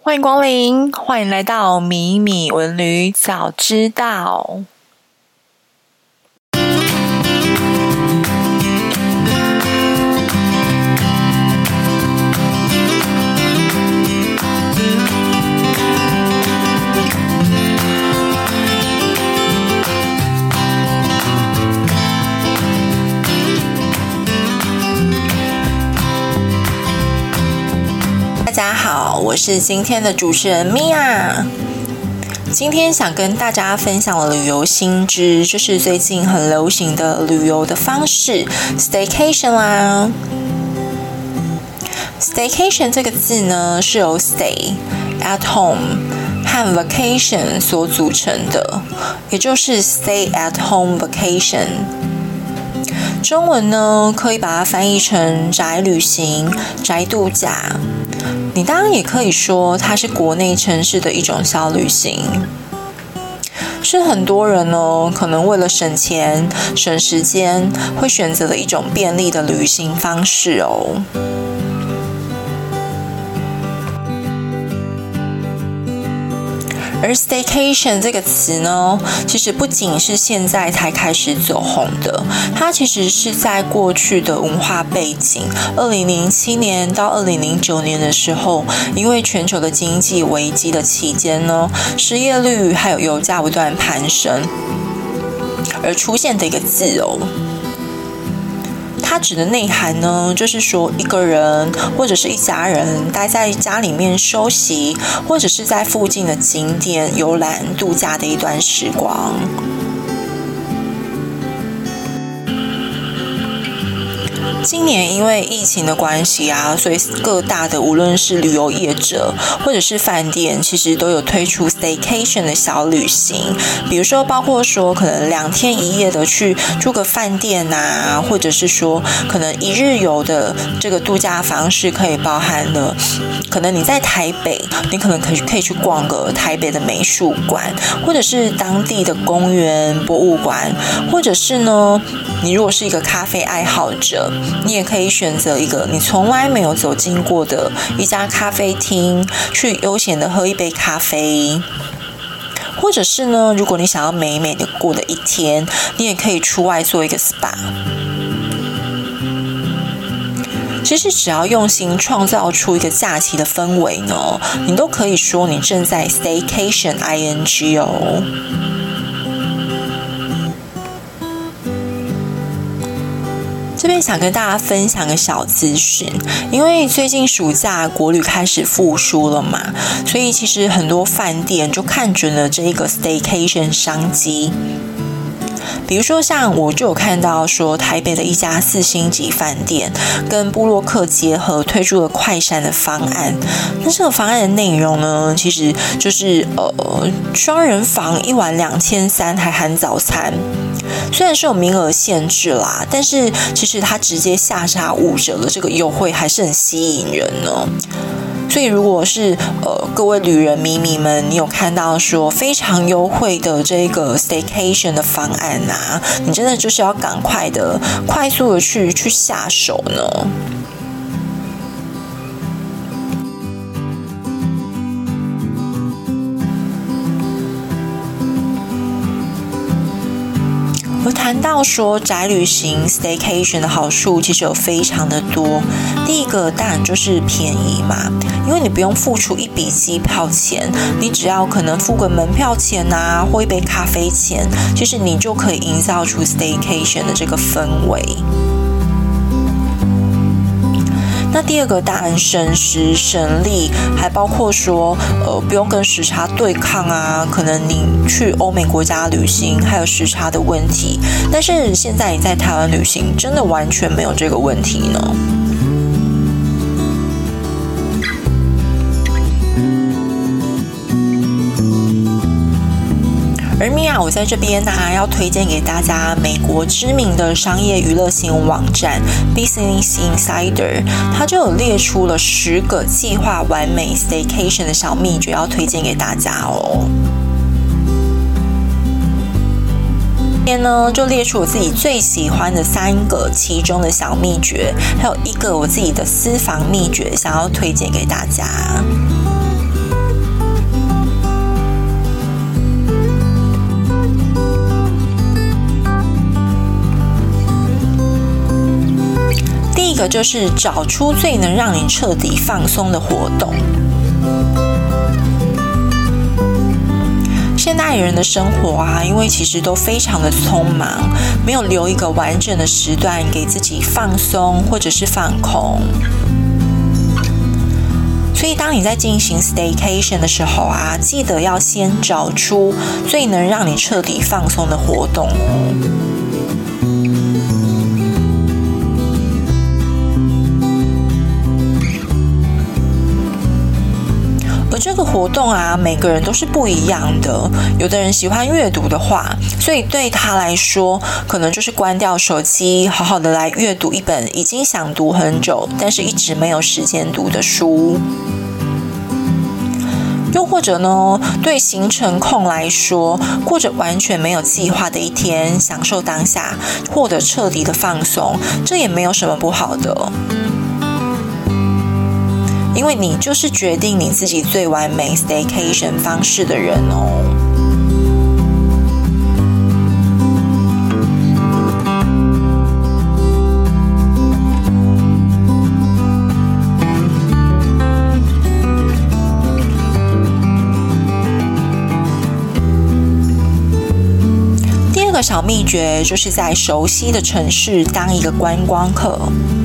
歡迎光臨，歡迎來到米米文旅早知道。大家好，我是今天的主持人米婭。今天想跟大家分享的旅遊新知，就是最近很流行的旅遊的方式 Staycation 啦。Staycation 這個字呢，是由 stay at home 和 vacation 所組成的，也就是 stay at home vacation。中文呢，可以把它翻譯成宅旅行、宅度假。你當然也可以說它是國內城市的一種小旅行，是很多人呢可能為了省錢、省時間，會選擇的一種便利的旅行方式哦。而 staycation 這個詞呢，其實不僅是現在才開始走紅的，它其實是在過去的文化背景，2007年到2009年的時候，因為全球的經濟危機的期間呢，失業率還有油價不斷攀升，而出現的一個字哦。它指的內涵呢，就是說一個人或者是一家人待在家裡面休息，或者是在附近的景點遊覽度假的一段時光。今年因為疫情的關係啊，所以各大的無論是旅遊業者或者是飯店，其實都有推出 staycation 的小旅行。比如說，包括說可能2天1夜的去住個飯店啊，或者是說可能1日遊的這個度假方式，可以包含了可能你在台北，你可能可以去逛個台北的美術館，或者是當地的公園、博物館，或者是呢，你如果是一個咖啡愛好者，你也可以選擇一個你從來沒有走進過的一家咖啡廳，去悠閒的喝一杯咖啡。或者是呢，如果你想要美美的過的一天，你也可以出外做一個 SPA。其實只要用心創造出一個假期的氛圍呢，你都可以說你正在 Staycation ing 哦。這邊想跟大家分享個小資訊，因為最近暑假國旅開始復甦了嘛，所以其實很多飯店就看準了這一個 staycation 商機。比如說像我就有看到說，台北的一家4星級飯店跟部落客結合推出了快閃的方案。那這個方案的內容呢，其實就是雙人房1晚2300，還含早餐。雖然是有名額限制啦，但是其實它直接下殺5折的這個優惠還是很吸引人呢。所以如果是各位旅人迷們，你有看到說非常優惠的這個 staycation 的方案啊，你真的就是要趕快的、快速的去下手呢。而談到說宅旅行 staycation 的好處，其實有非常的多。第一個當然就是便宜嘛，因為你不用付出一筆機票錢，你只要可能付個門票錢啊，或一杯咖啡錢，其實你就可以營造出 staycation 的這個氛圍。那第二個當然省時省力，還包括說不用跟時差對抗啊，可能你去歐美國家旅行還有時差的問題，但是現在你在台灣旅行真的完全沒有這個問題呢。而米婭，我在這邊呢，要推薦給大家美國知名的商業娛樂新聞網站 Business Insider， 它就有列出了10個計劃完美 Staycation 的小秘訣，要推薦給大家哦。今天呢，就列出我自己最喜歡的3個其中的小秘訣，還有1個我自己的私房秘訣，想要推薦給大家。 第一個就是找出最能讓你徹底放鬆的活動。現代人的生活啊，因為其實都非常的匆忙，沒有留一個完整的時段給自己放鬆或者是放空。所以當你在進行 staycation 的時候啊，記得要先找出最能讓你徹底放鬆的活動哦。這個活動啊，每個人都是不一樣的。有的人喜歡閱讀的話，所以對他來說，可能就是關掉手機，好好的來閱讀一本已經想讀很久，但是一直沒有時間讀的書。又或者呢，對行程控來說，過着完全沒有計劃的一天，享受當下，獲得徹底的放鬆，這也沒有什麼不好的。因為你就是決定你自己最完美 staycation 方式的人哦。第二個小祕訣就是在熟悉的城市當一個觀光客。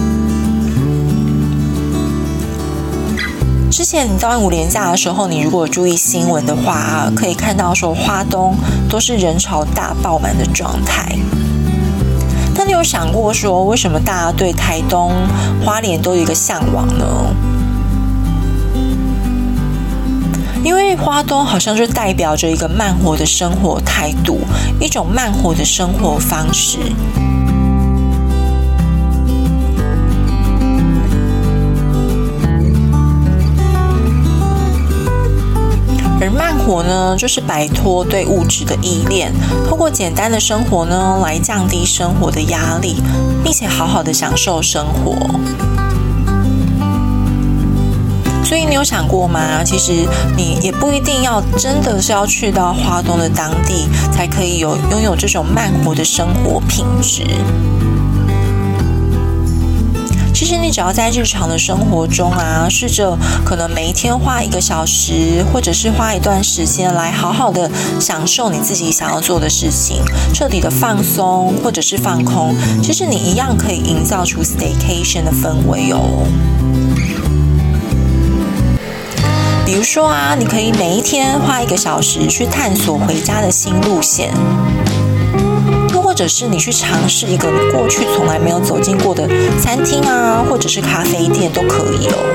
之前你端午連假的時候，你如果注意新聞的話，可以看到說花東都是人潮大爆滿的狀態。但你有想過說，為什麼大家對台東、花蓮都有一個向往呢？因為花東好像就代表着一個慢活的生活態度，一種慢活的生活方式。而慢活呢，就是擺脫對物質的依戀，透過簡單的生活呢，來降低生活的壓力，並且好好的享受生活。所以你有想過嗎？其實你也不一定要真的是要去到花東的當地，才可以擁有這種慢活的生活品質。其實你只要在日常的生活中啊，試着可能每一天花1個小時，或者是花一段時間來好好的享受你自己想要做的事情，徹底的放鬆或者是放空，其實你一樣可以營造出 staycation 的氛圍哦。比如說啊，你可以每一天花1個小時去探索回家的新路線。或者是你去嘗試一個你過去從來沒有走進過的餐廳啊，或者是咖啡店都可以哦。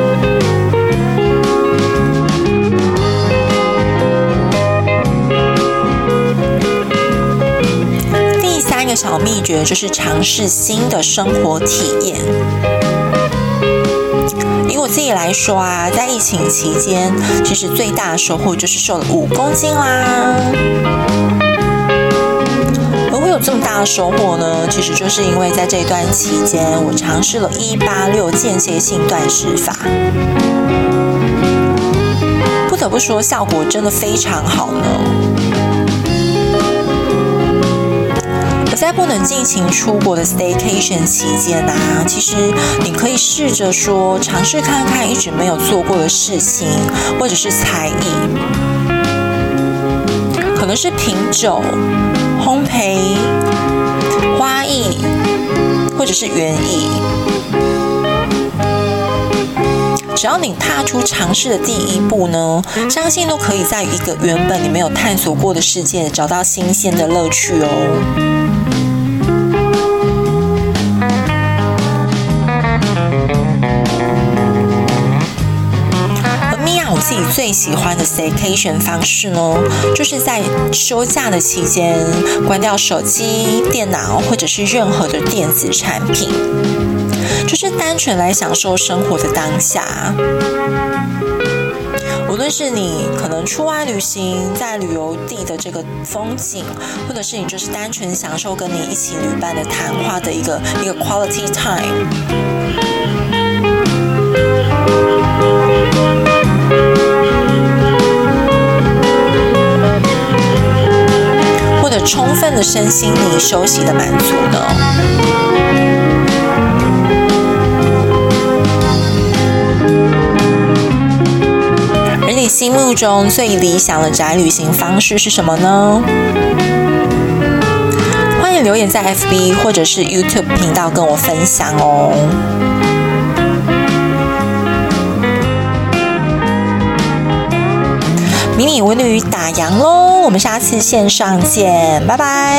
第3個小祕訣就是嘗試新的生活體驗。以我自己來說啊，在疫情期間，其實最大的收穫就是瘦了5公斤啦。會有這麼大的收穫呢？其實就是因為在這段期間，我嘗試了186間歇性斷食法。不得不說，效果真的非常好呢。而在不能盡情出國的 staycation 期間啊，其實你可以試着說，嘗試看看一直沒有做過的事情，或者是才藝，可能是品酒、烘焙、花藝，或者是園藝。只要你踏出嘗試的第一步呢，相信都可以在一個原本你沒有探索過的世界找到新鮮的樂趣哦。我自己最喜歡的 staycation 方式呢，就是在休假的期間關掉手機、電腦或者是任何的電子產品，就是單純來享受生活的當下。無論是你可能出外旅行，在旅遊地的這個風景，或者是你就是單純享受跟你一起旅伴的談話的一個 quality time。或者充分的身心靈休息的滿足呢？ 心目中最理想的宅旅行方式是什麼呢？歡迎留言在 FB 或者是 YouTube 頻道跟我分享哦。迷你文旅打烊嘍，我們下次線上見，拜拜。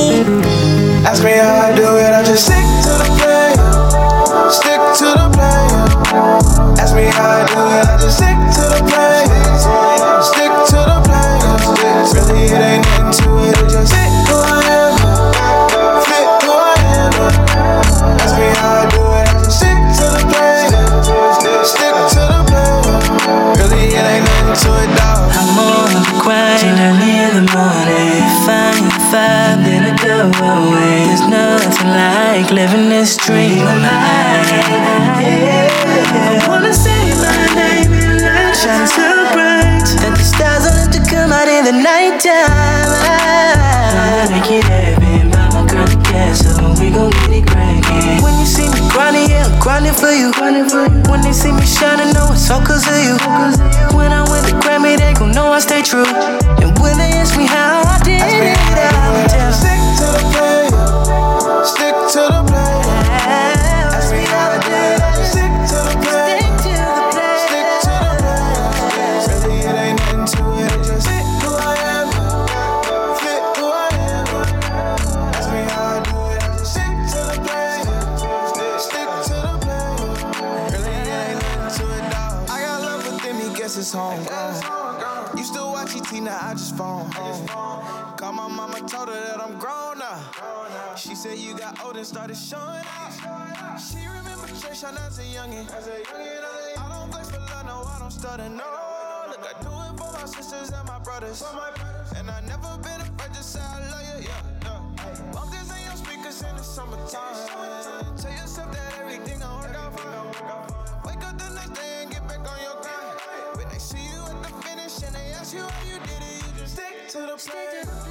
Ask me how I do it, I just stick to the plan. Stick to the plan. Ask me how I do it, I just stick to the plan. Stick to the plan. Really, it ain't nothing to it, it just fit who I am. Fit who I am. Ask me how I do it, I just stick to the plan. Stick to the plan. Really, it ain't nothing to it, dog. I'm on the grind early in the morning. Find the vibe, then I go away. There's nothing like living this dream of mine. I wanna say my name and light shine so bright that the stars are meant to come out in the nighttime. I make it happen, buy my girl a gas, so we gon' get it crackin'. When you see me grinding, yeah, I'm grinding for you. When they see me shining, know it's all 'cause of you. When I win the Grammy, they gon' know I stay true. And when they ask me how I did it, I'll tell. Stick to the plan. Stick to the plan. Ask me how I did it, I just stick to the plan. Stick to the plan. Really, it ain't nothing to it, it just fit who I am. Fit who I am. Ask me how I do it, I just stick to the plan. Stick to the plan. Really, it ain't nothing to it, dog. I got love within me, guess it's homegrown. Used to watch ET, now I just phone home. Called my mama, told her that I'm grown now. She said you got old and started showing out. She remember church, I was a youngin'. I don't flex for love, no, I don't stutter, no. Look, I do it for my sisters and my brothers. And I never been afraid to say I love you, yeah. Bump this in your speakers in the summertime. Tell yourself that everything gon' work out fine. Wake up the next day and get back on your grind. When they see you at the finish and they ask you how you did it, you just stick to the plan.